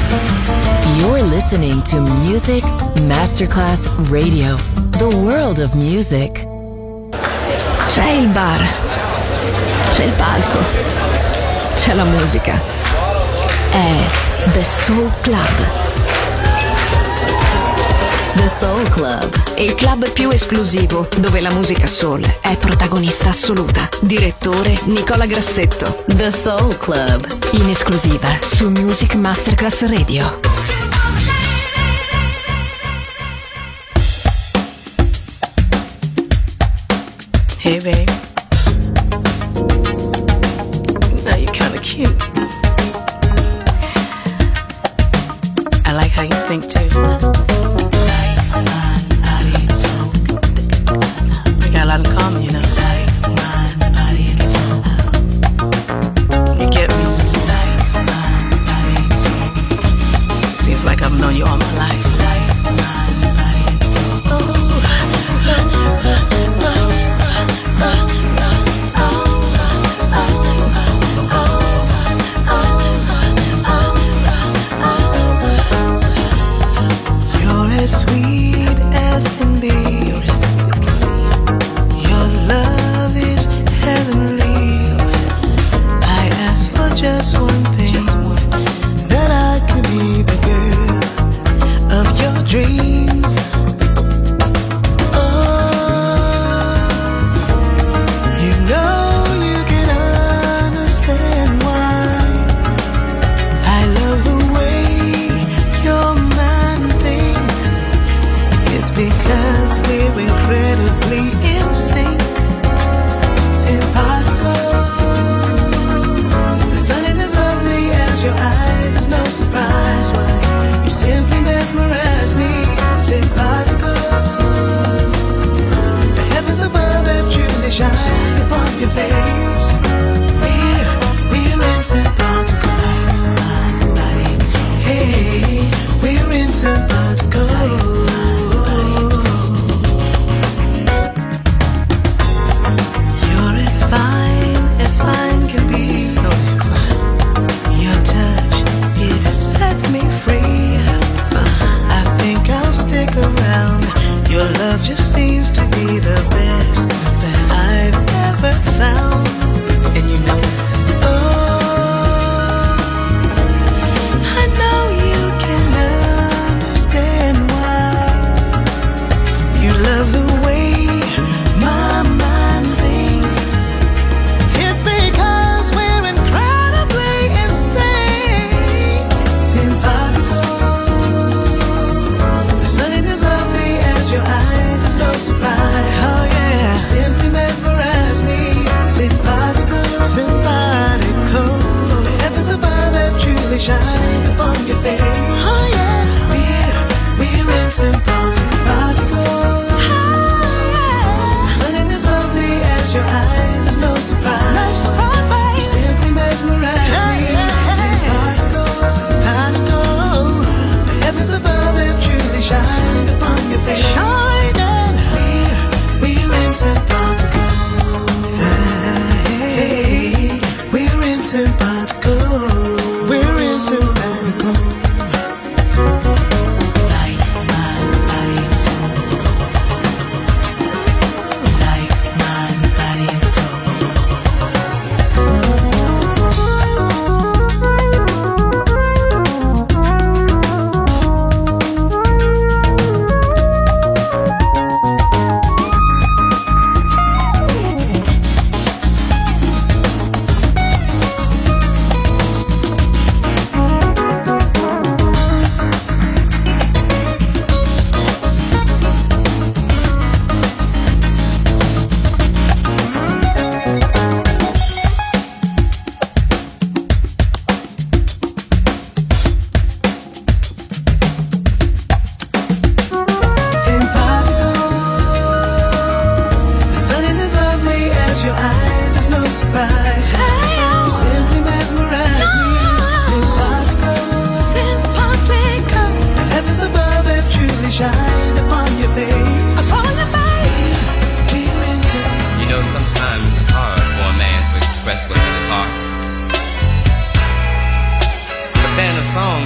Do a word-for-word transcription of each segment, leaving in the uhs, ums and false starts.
You're listening to Music Masterclass Radio, the world of music. C'è il bar, c'è il palco, c'è la musica. È The Soul Club. The Soul Club, il club più esclusivo dove la musica soul è protagonista assoluta. Direttore Nicola Grassetto. The Soul Club, in esclusiva su Music Masterclass Radio. Hey babe, now you're kinda cute. I like how you think too. We got a lot in common, you know. You get me? Seems like I've known you all my life. Sweet as can be. Your love is heavenly. I ask for just one thing, that I can be the girl of your dreams. Oh, you know you can understand why I love the way your mind thinks. It's because we're incredibly in sync. Simpatico. The sun is as lovely as your eyes. There's no surprise why you simply mesmerize me. Simpatico. The heavens above have truly shined upon your face. We're, we're in simpatico. Hey, we're in simpatico. Fine as fine can be, so fine. Your touch, it sets me free. I think I'll stick around. Your love just seems to be the best, the best I've ever found. And you know, oh, I know you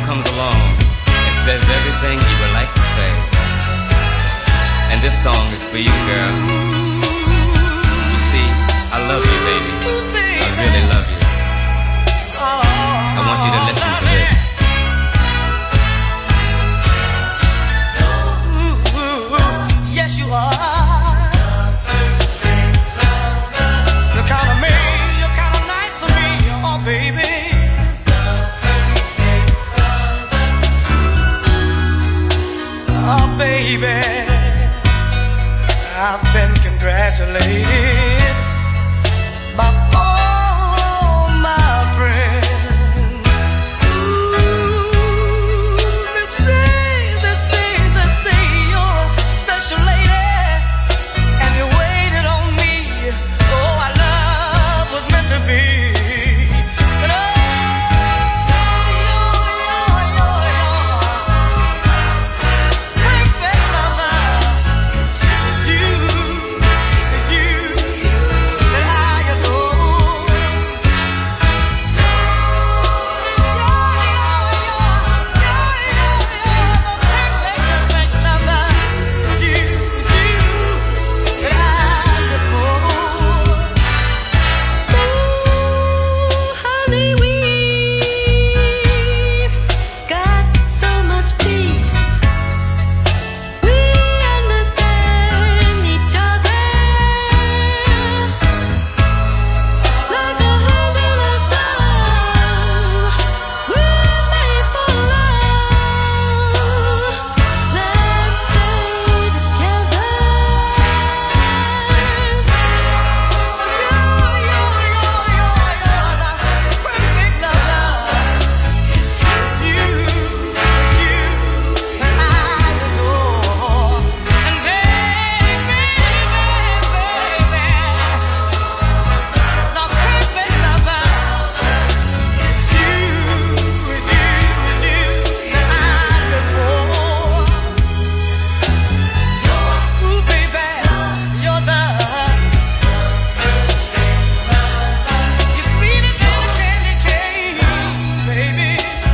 comes along and says everything you would like to say. And this song is for you, girl. You see, I love you, baby. I really love you. I want you to listen to this. Yes, you are. You're kind of me, you're kind of nice for me, oh baby. Oh baby, I've been congratulated by all my friends. Ooh, they say, they say, they say you're a special lady, and you waited on me. Oh, our love was meant to be. And oh, you're, you're, you're, you're perfect lover. It's you, it's you that I adore. You're, you're, you're, you're, you're the perfect, perfect lover. It's you, it's you that I adore. Ooh, honey, we've got so much peace. We understand each other like a husband and love. We're made for love. Let's stay together. You're, you're, you're, you're, you're the perfect lover. It's you, it's you that I adore. And baby, baby, the perfect lover. It's you, it's you, it's you that I adore. Ooh, baby, you're the you're sweeter than a candy cane, baby.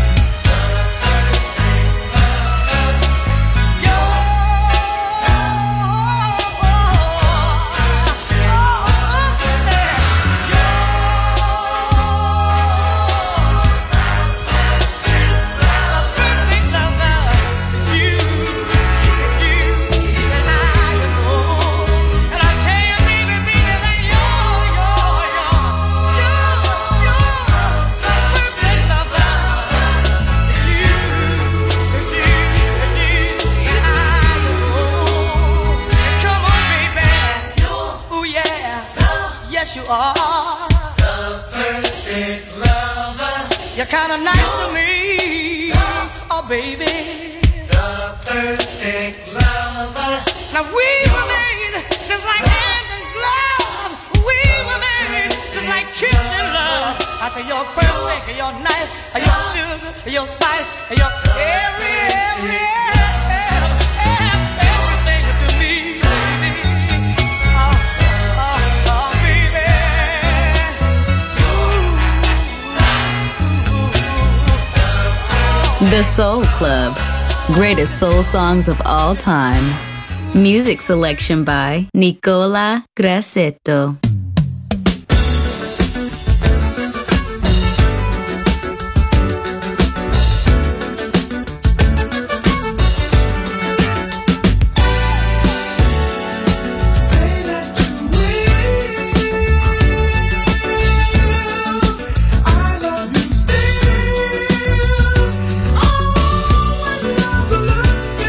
Yes, you are the perfect lover. You're kind of nice to me, oh baby. The perfect lover. Now we were made just like hand and glove. We were made just like kiss and love. I say you're perfect, you're nice, you're sugar, you're spice, you're every, every, every, everything to me, baby. Oh, oh, oh, baby. The Soul Club. Greatest soul songs of all time. Music selection by Nicola Grassetto.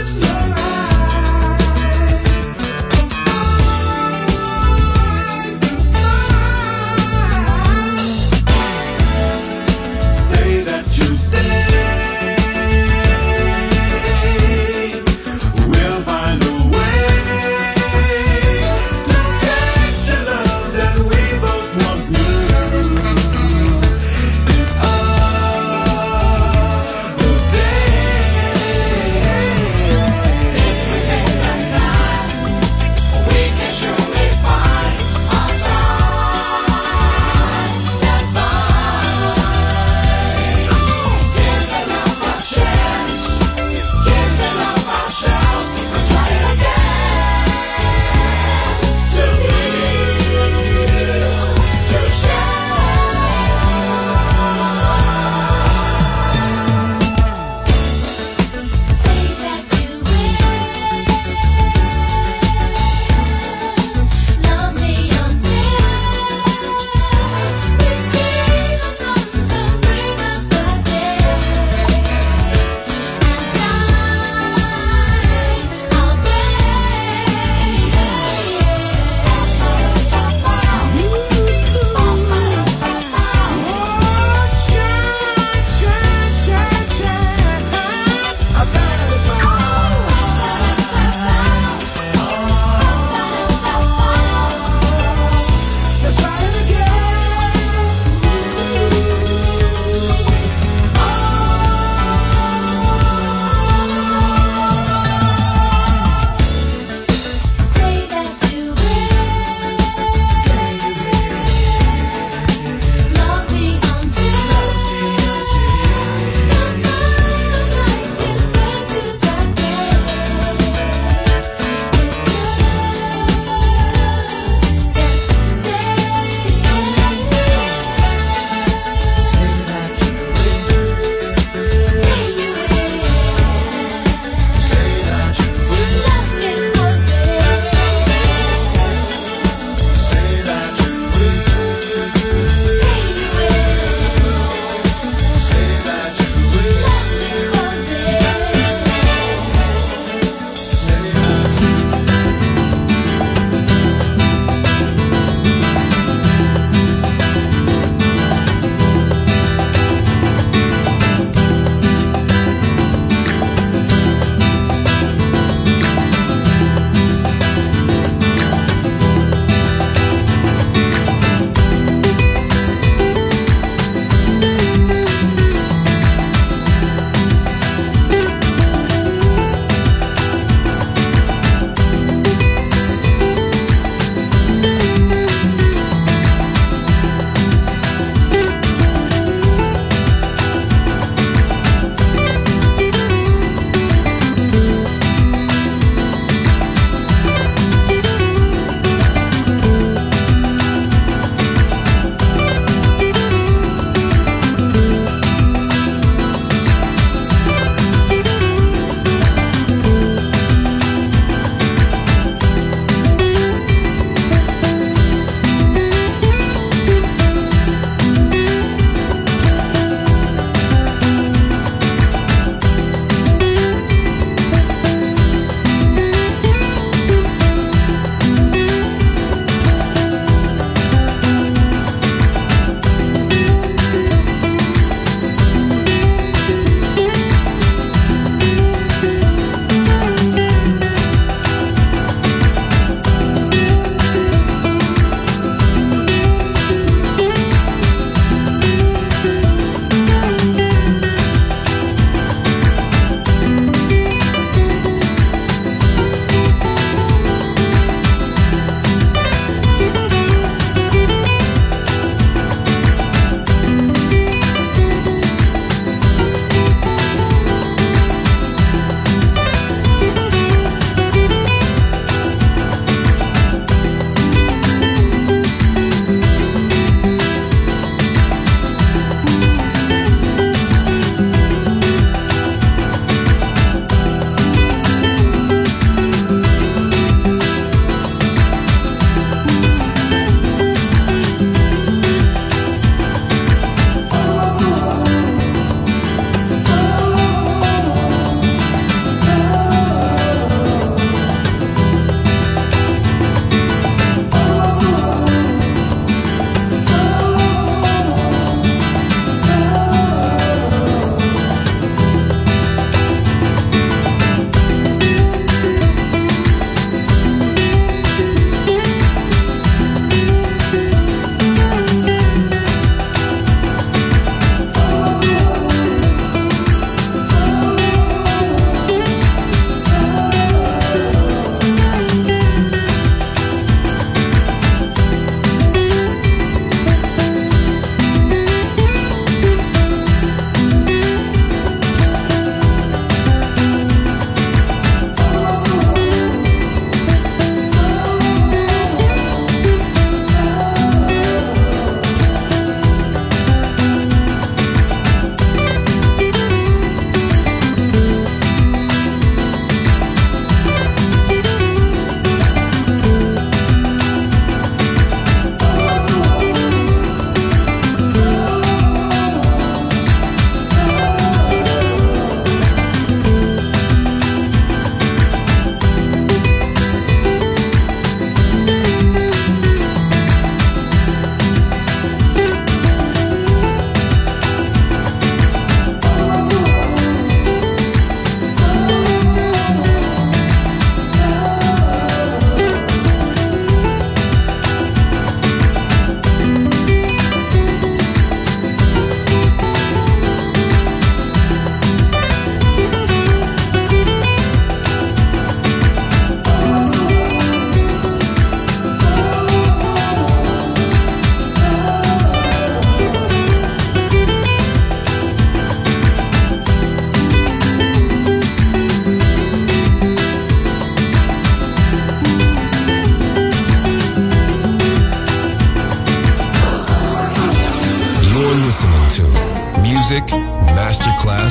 Eyes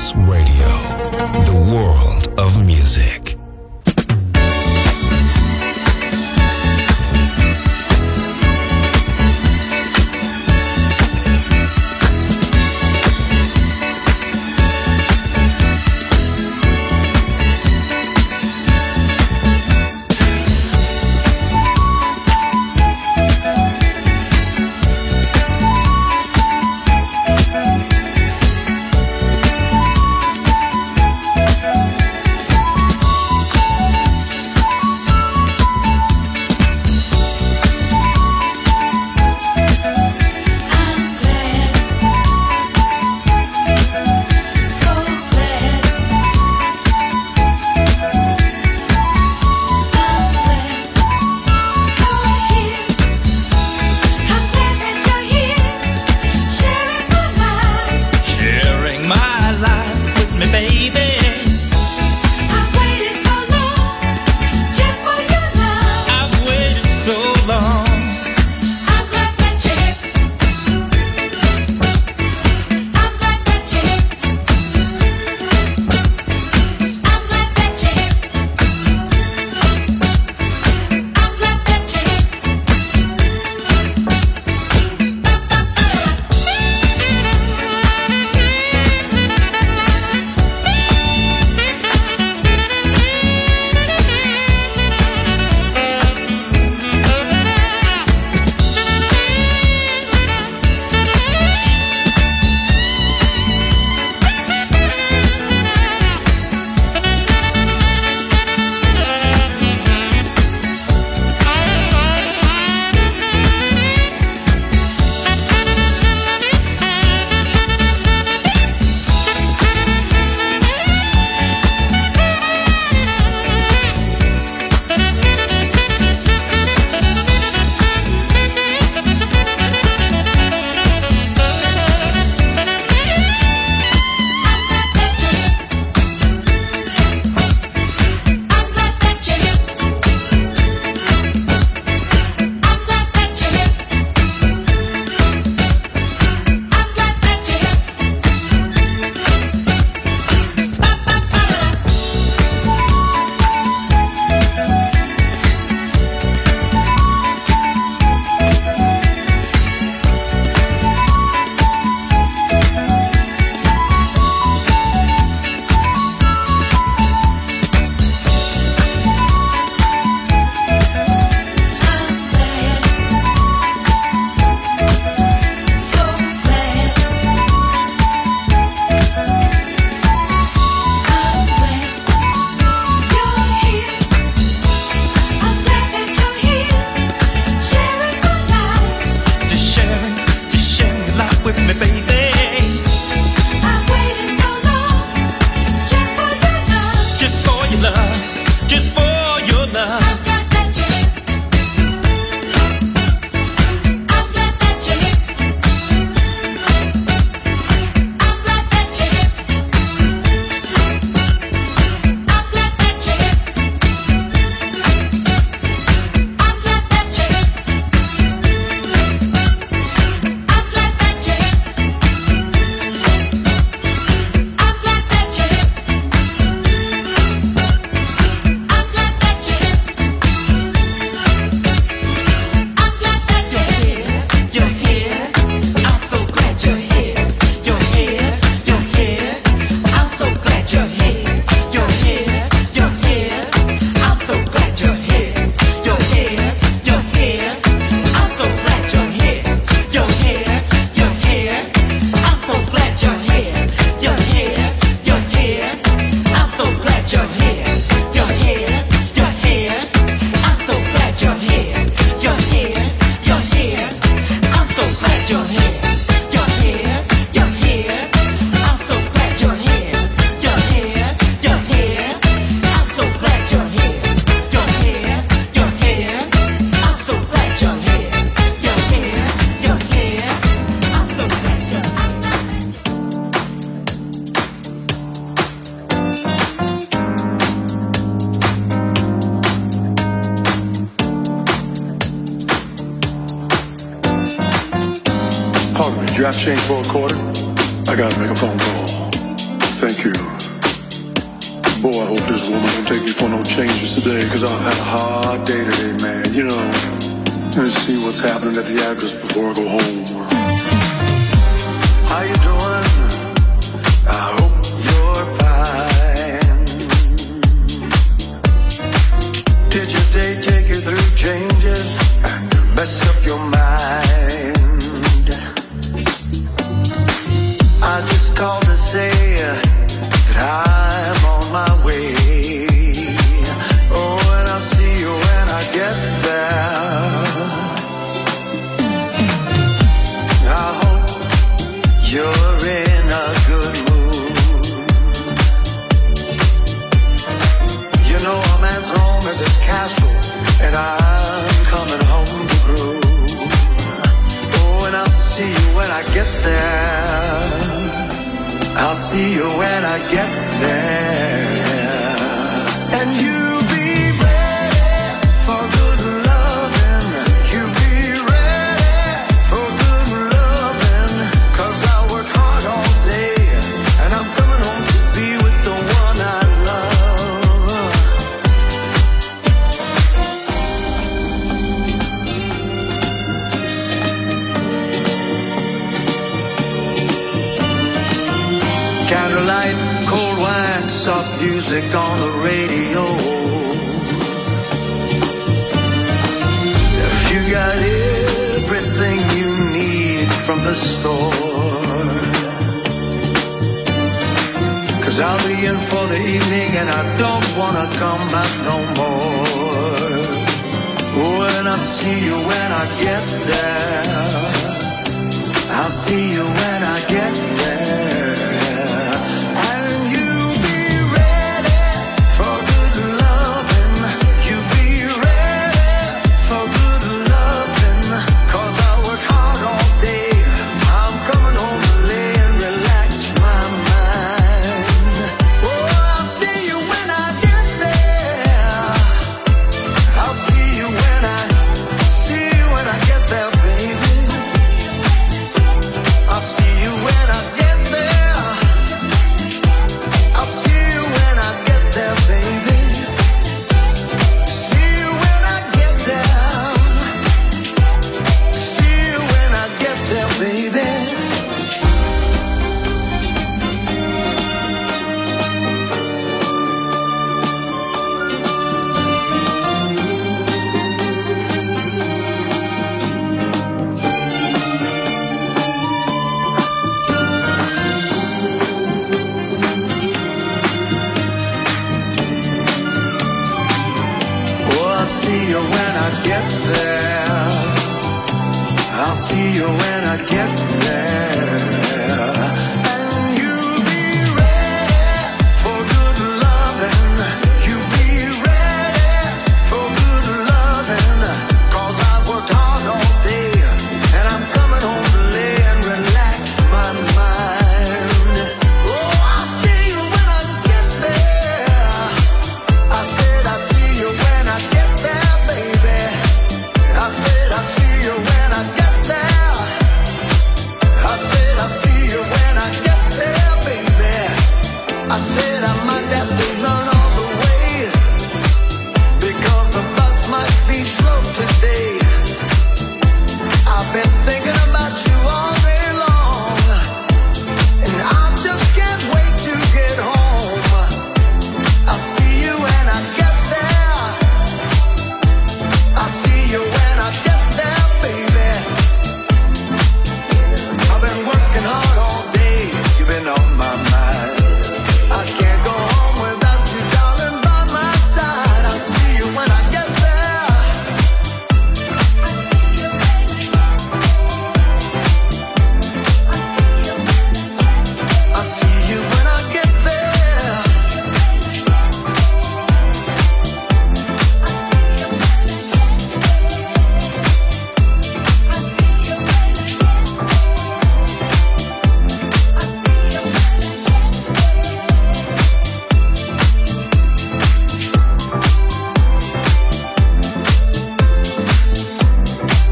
Masterclass Radio, the world of music. You got change for a quarter? I gotta make a phone call. Thank you. Boy, I hope this woman don't take me for no changes today, because I've had a hard day today, man. You know, let's see what's happening at the address before I go home. How you doing? I hope you're fine. Did your day take you through changes and mess up your mind? I just called to say that I'm on my way. Oh, and I'll see you when I get there. I hope you're in a good mood. You know a man's home is his castle, and I'm coming home to groove. Oh, and I'll see you when I get there. I'll see you when I get there. And you be ready for good loving. You be ready for good loving. 'Cause I work hard all day, and I'm coming home to be with the one I love. Candlelight, cold wine, soft music on the radio. If you got everything you need from the store, 'cause I'll be in for the evening and I don't wanna come back no more. When I see you when I get there, I'll see you when I get there.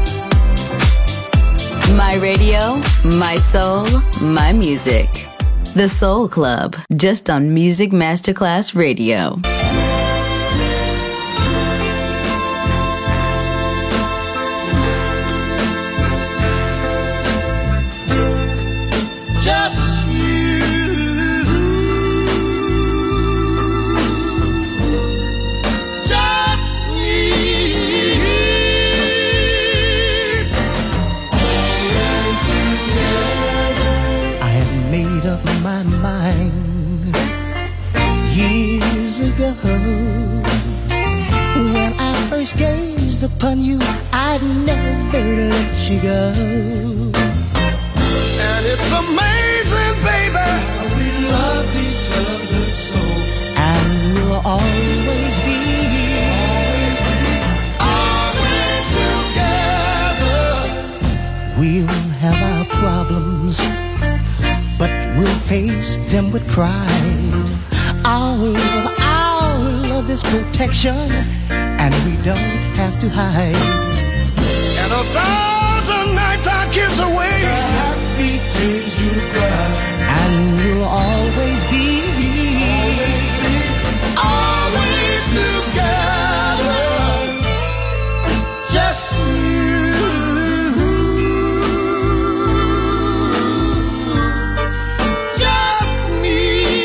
My radio, my soul, my music. The Soul Club, just on Music Masterclass Radio. When I first gazed upon you, I'd never let you go. And it's amazing, baby, we love each other so. And we'll always be, always together. We'll have our problems, but we'll face them with pride. Our love, our love is protection, and we don't have to hide. And a thousand nights I kiss away the happy tears you cry, and we'll always be, always together. Just you, just me.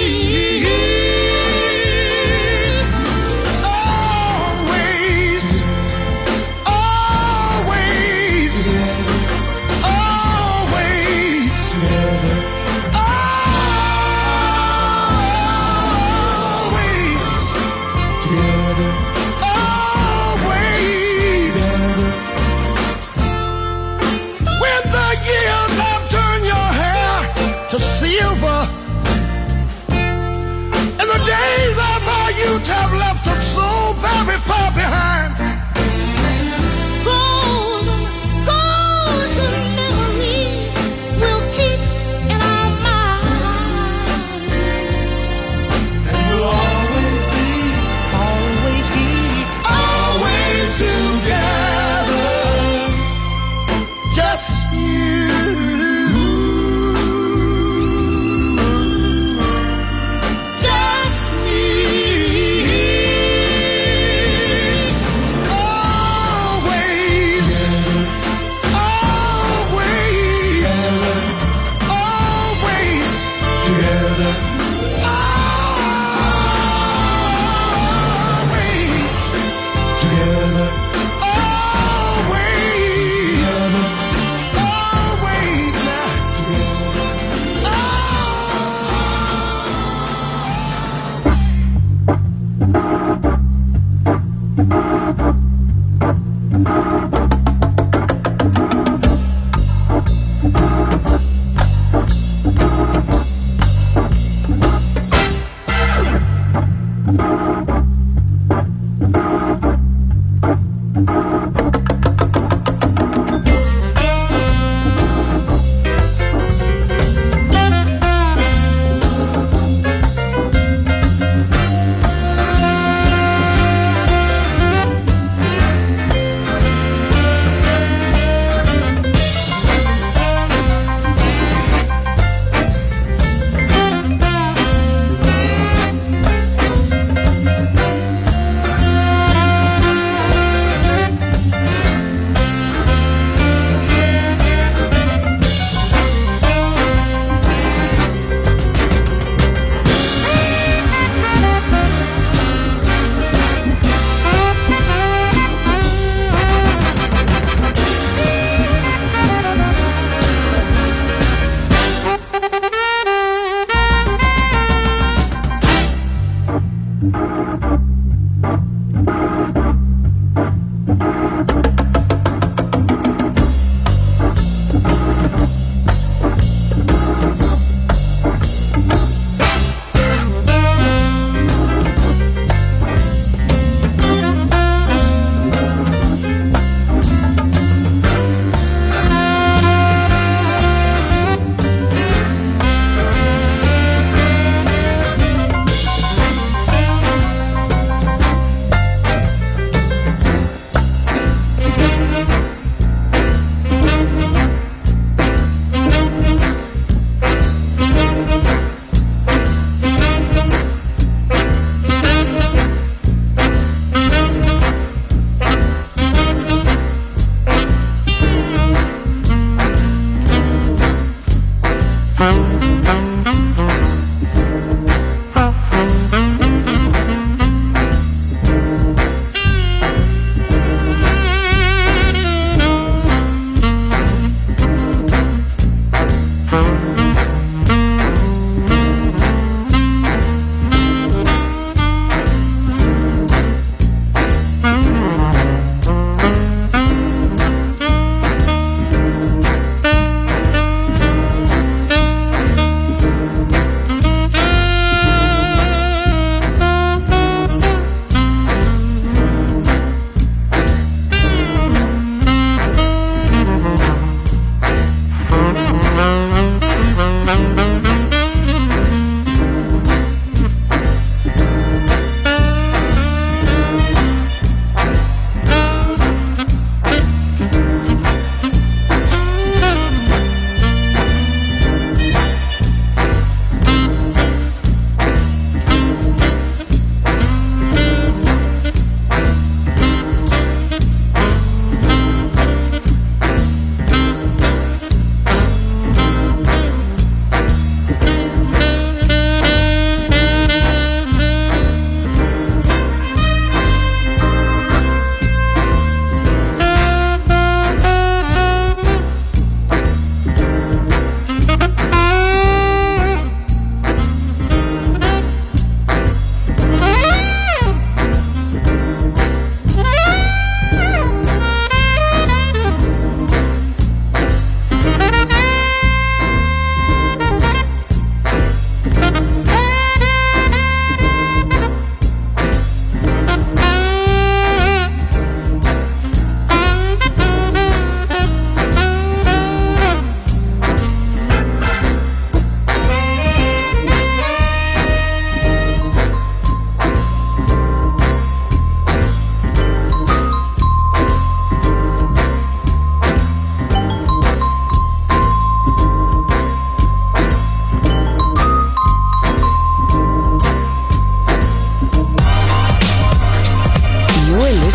Have left us so very far behind. golden, golden memories we'll keep in our mind. And we'll always be, Always be, always together. Just you.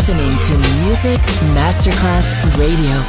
listening to Music Masterclass Radio.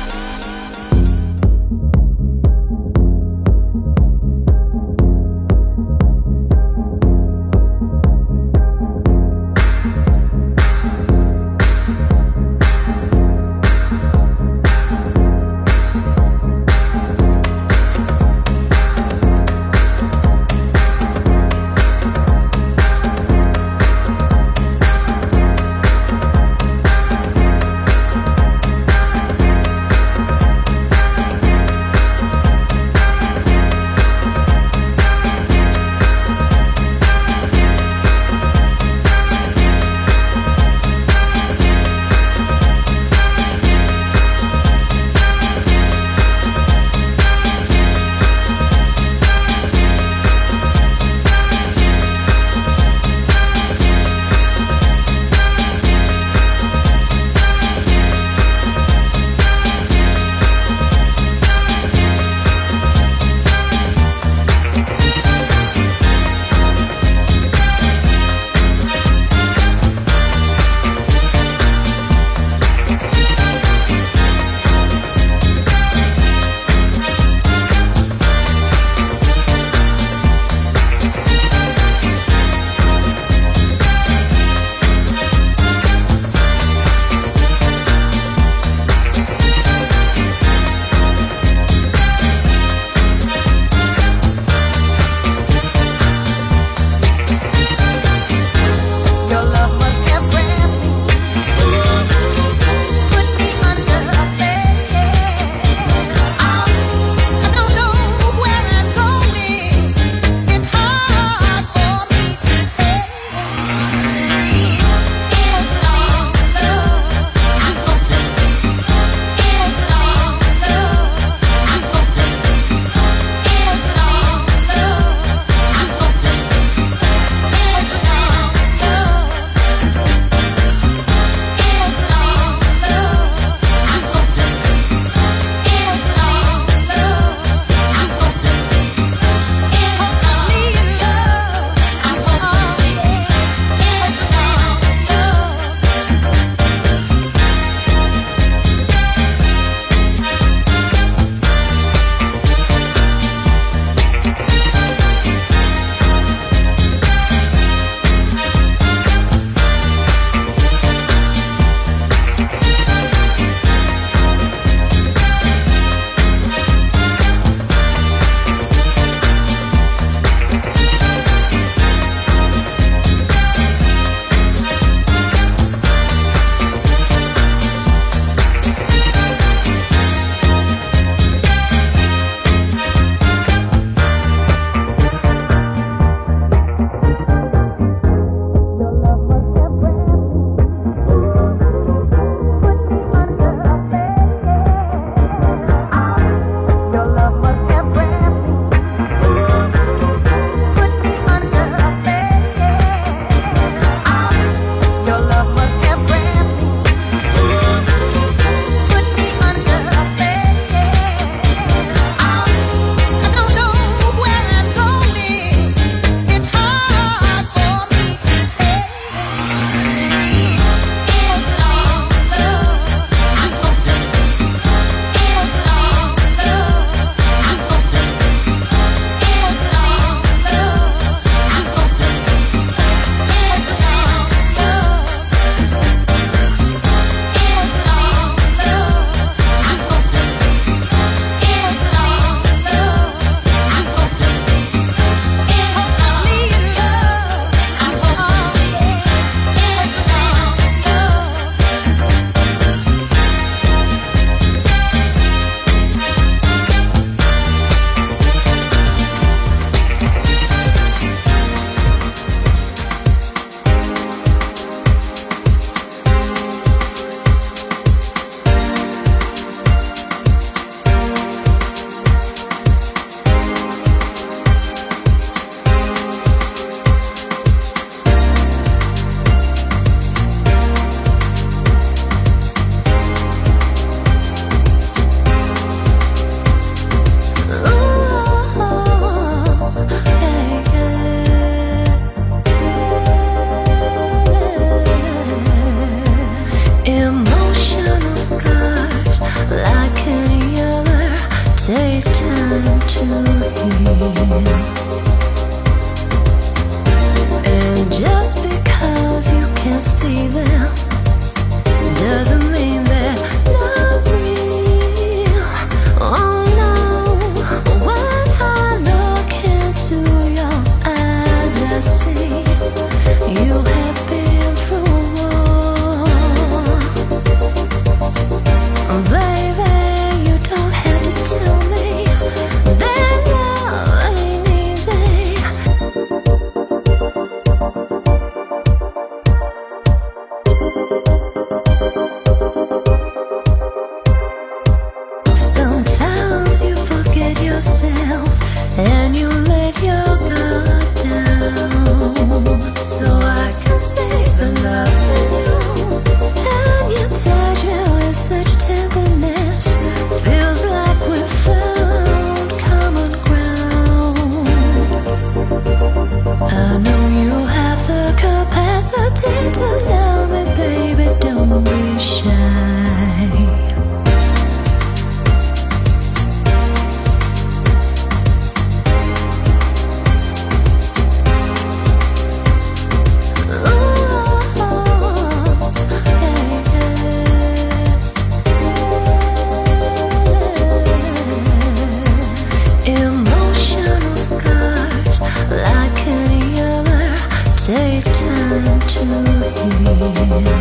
time to heal.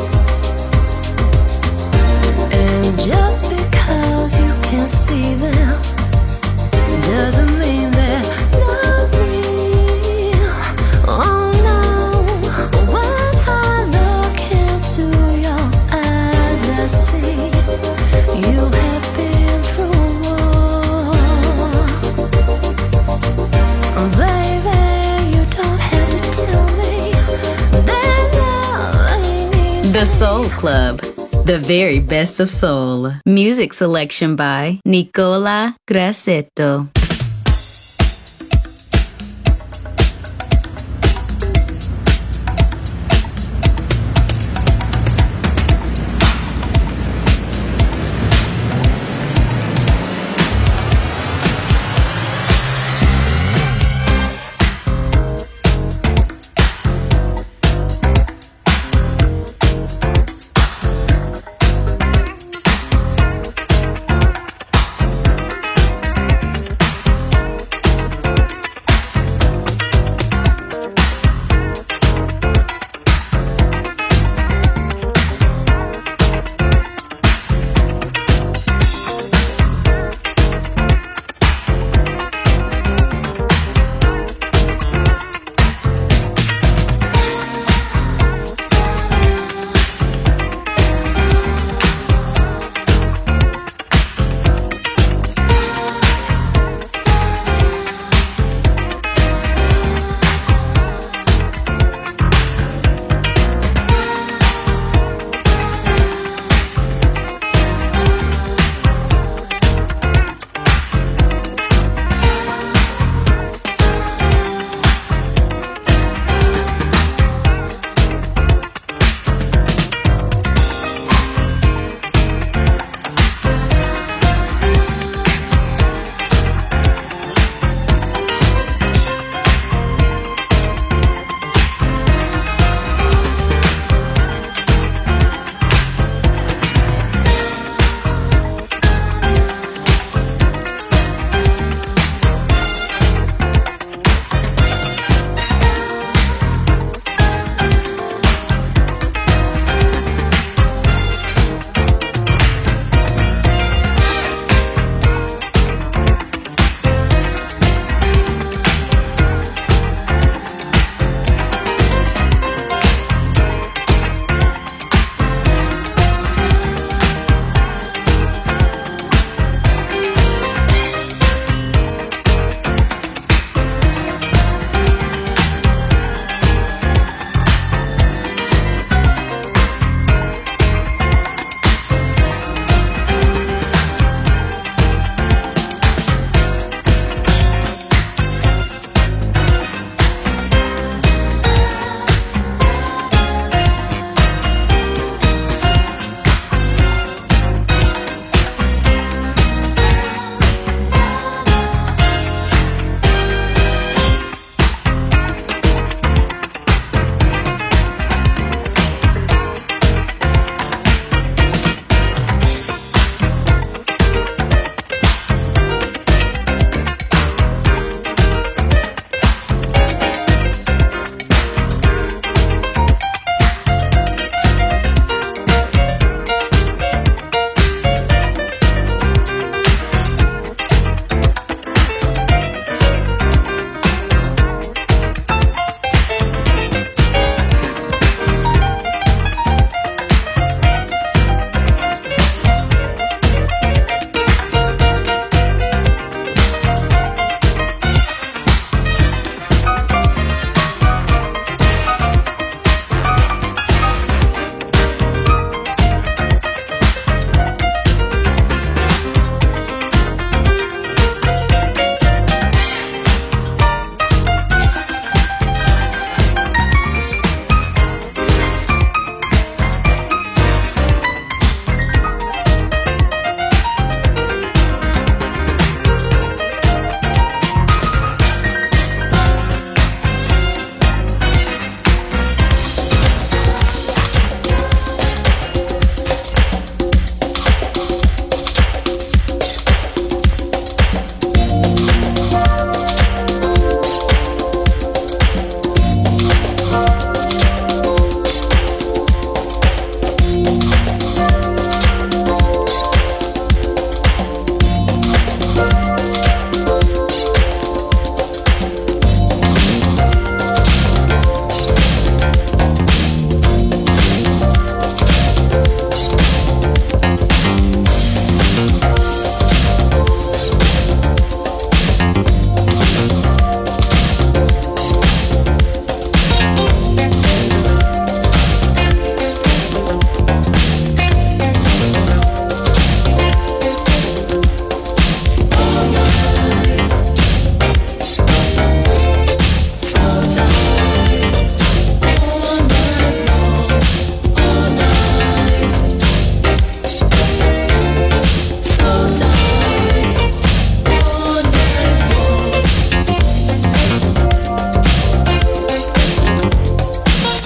And just because you can't see them doesn't mean they're not real. Oh no, when I look into your eyes, I see you have been through war. Baby, you don't have to tell me that love ain't easy. The Soul Club, the very best of soul. Music selection by Nicola Grassetto.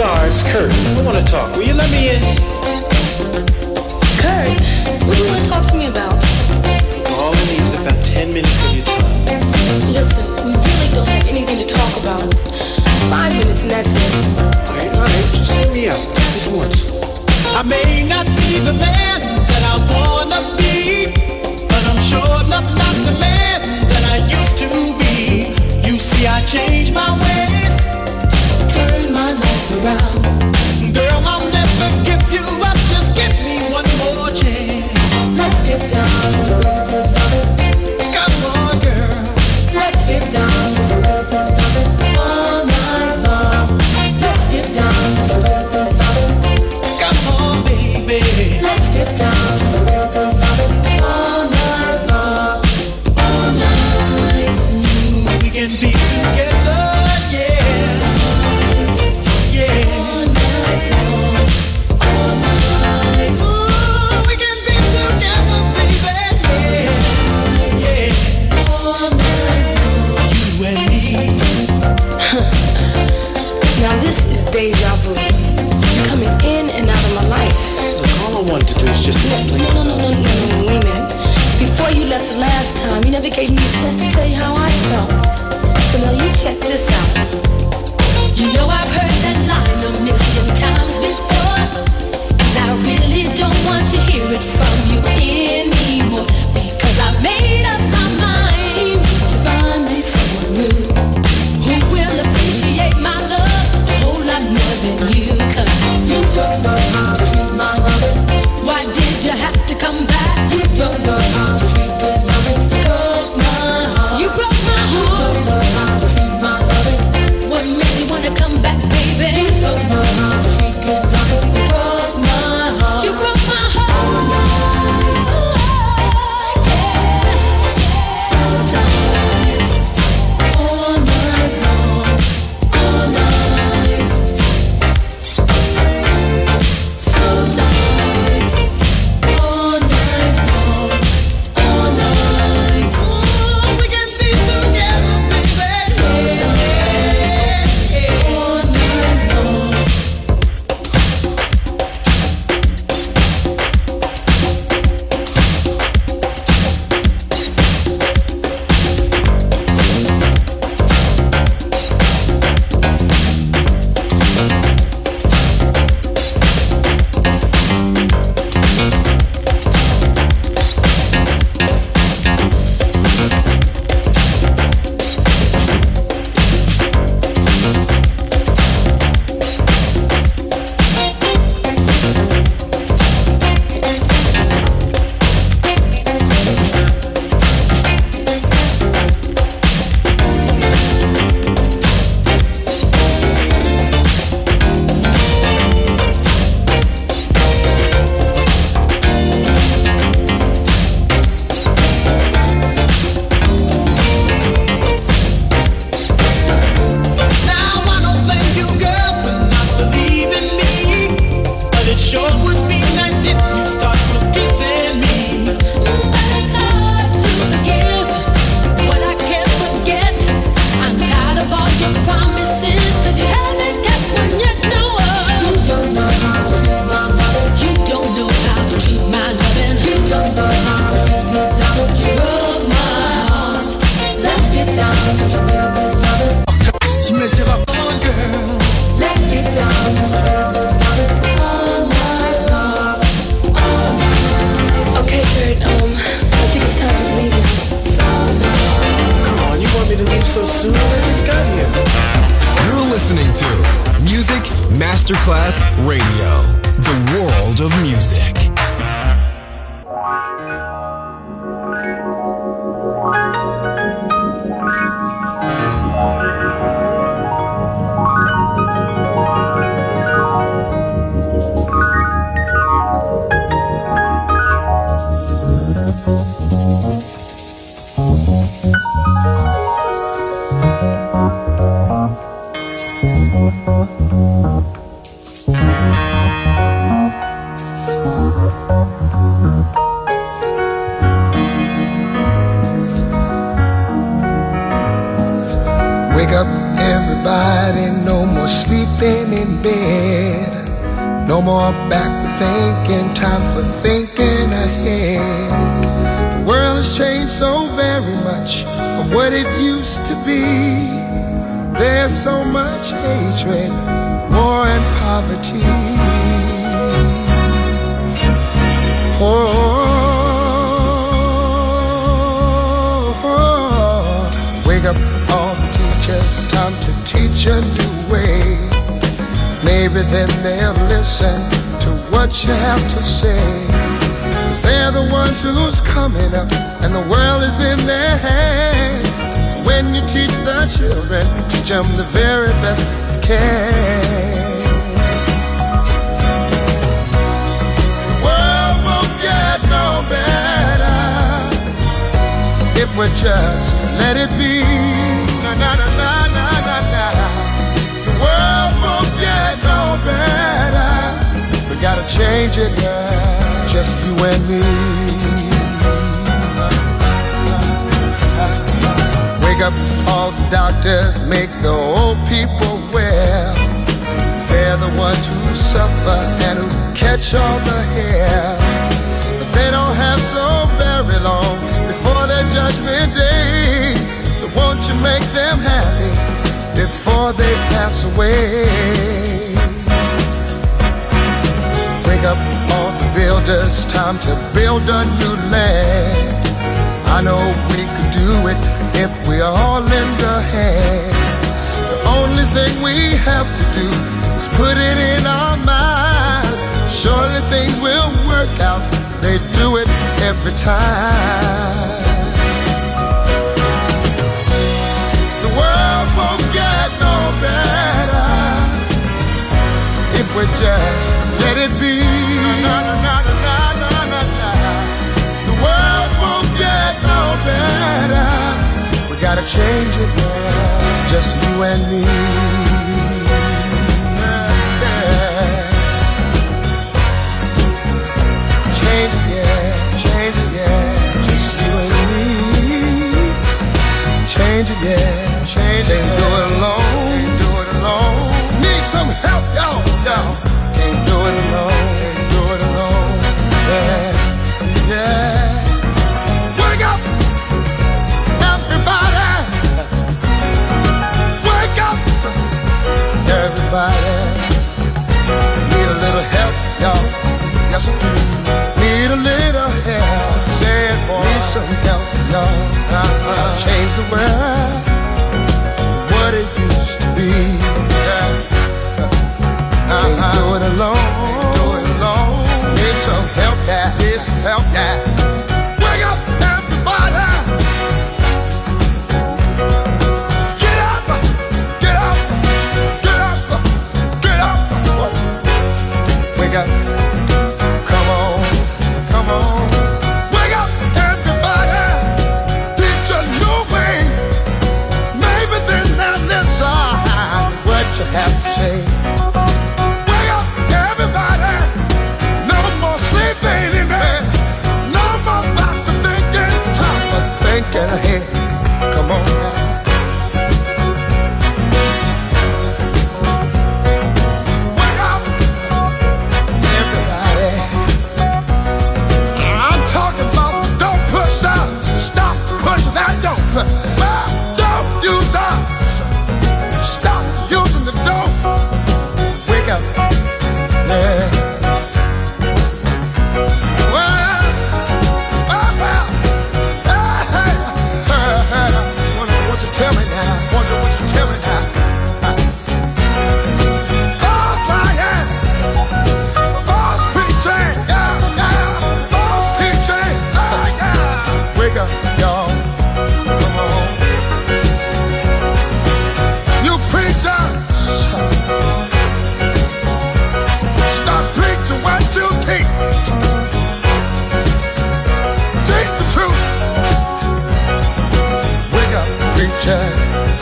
car. It's Kurt. I want to talk. Will you let me in? Kurt, what do you want to talk to me about? All I need is about ten minutes of your time. Listen, we really don't have anything to talk about. Five minutes and that's it. Alright, alright, just hear me out. Just this once. I may not be the man that I wanna be, but I'm sure enough not the man that I used to be. You see, I changed my ways, turn my life around. Girl, I'll never give you up, just give me one more chance. Let's get down to some real good loving. Come on, girl. Let's get down to some real good loving. All night long. Let's get down to some real good loving. Come on, baby. Let's get down to some real good loving. All night long. All night. Ooh, we can be together, yeah. Yeah. All night long. All night. Ooh, we can be together, baby. Yeah. Yeah. All night long. You and me. Now this is deja vu. You're coming in and out of my life. Look, all I wanted to do is just explain. No, no, no, no, no, no, wait a minute. Before you left the last time, you never gave me a chance to tell you how I felt. So now you check this out. You know I've heard that line a million times before, and I really don't want to hear it from you anymore, because I made up my mind to find me someone new who will appreciate my love a whole lot more than you. Cause you don't know how to treat my loving. Why did you have to come back? You don't know how to treat good loving. You broke my heart. You broke my heart. You don't know how to treat my loving. What made you wanna come back, baby? You don't know how to treat good loving. You broke my heart. You broke my heart. All night. Oh, yeah. Sometimes. All night long. All night. Sometimes. All night long. All night. Ooh, we can be together, baby. Sometimes. All night long. Now I don't blame you, girl, for not believing me, but it sure would be nice if you start forgiving me. But it's hard to forgive what I can't forget. I'm tired of all your promises, cause you haven't kept one yet, no. You don't know how to treat my loving. You don't know how to treat my loving. You don't know how to treat good loving. You broke my heart. Let's get down to some real good loving. Come on, girl. Let's get down to some real good loving. All night long. All night. Okay, Kurt, um, I think it's time to leave now. Come on, you want me to leave so soon? I just got here. You're listening to Music Masterclass Radio, the world of music. Thank you. No more backward thinking, time for thinking ahead. The world has changed so very much from what it used to be. There's so much hatred, war and poverty. Oh, oh, wake up all the teachers, time to teach a new way. Maybe then they'll listen to what you have to say. 'Cause they're the ones who's coming up and the world is in their hands. When you teach the children, teach them the very best you can. The world won't get no better if we just let it be. Na na na na na na na. The world won't get no better. We gotta change it now, just you and me. Wake up all the doctors, make the old people well. They're the ones who suffer and who catch all the hair. But they don't have so very long before their judgment day. So won't you make them happy before they pass away? Wake up all the builders, time to build a new land. I know we could do it if we all lend a hand. The only thing we have to do is put it in our minds. Surely things will work out, they do it every time. The world won't get no better if we just let it be. Na, na, na, na, na, na, na, na. The world won't get no better. We gotta change it now, just you and me. Yeah. Change it, yeah, change it, yeah, just you and me. Change it, yeah, change it. Can't do it alone, can't do it alone. Need some help, y'all, y'all. Can't do it alone, can't do it alone. Yeah, yeah. Wake up, everybody. Wake up, everybody. Need a little help, y'all. Yes, I do. Need a little help. Say it, boy. Need some help, y'all. Uh-huh. Change the world, what it used to be. Yeah. Uh-huh. Can't do it alone. Can't do it alone. Need some help, yeah. Need some help, yeah. Wake up, everybody. Get up, get up, get up, get up. Wake up. Come on, come on. Wake up, everybody. Teach a new way. Maybe then they'll listen what you have to say. Wake up, everybody. No more sleeping in bed. No more about to thinking. Time for thinking ahead. Come on now. Wake up, everybody. I'm talking about don't push out. Stop pushing that don't push. Well, don't use us. Stop using the don't. Wake up. Yeah. Well, well, well. Hey, hey, hey, hey. Wonder what you tell me now. Wonder what you tell me now. False lying. False preaching. Yeah, yeah. False teaching. Yeah, yeah. Wake up, y'all. Come on. You preachers. Stop preaching what you teach. Teach the truth. Wake up, preachers.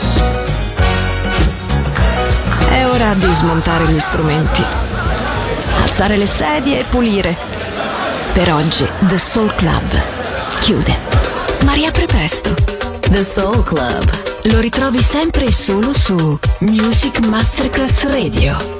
È ora di smontare gli strumenti, alzare le sedie e pulire. Per oggi The Soul Club chiude, ma riapre presto. The Soul Club Lo ritrovi sempre e solo su Music Masterclass Radio.